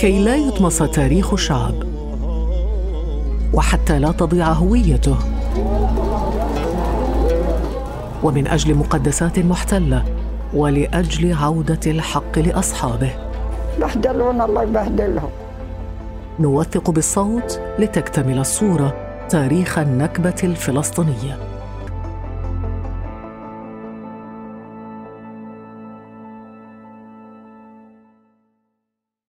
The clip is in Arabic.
كي لا يطمس تاريخ الشعب وحتى لا تضيع هويته، ومن أجل مقدسات محتلة ولأجل عودة الحق لأصحابه. بهدلونا الله يبهدلهم. نوثق بالصوت لتكتمل الصورة تاريخ النكبة الفلسطينية.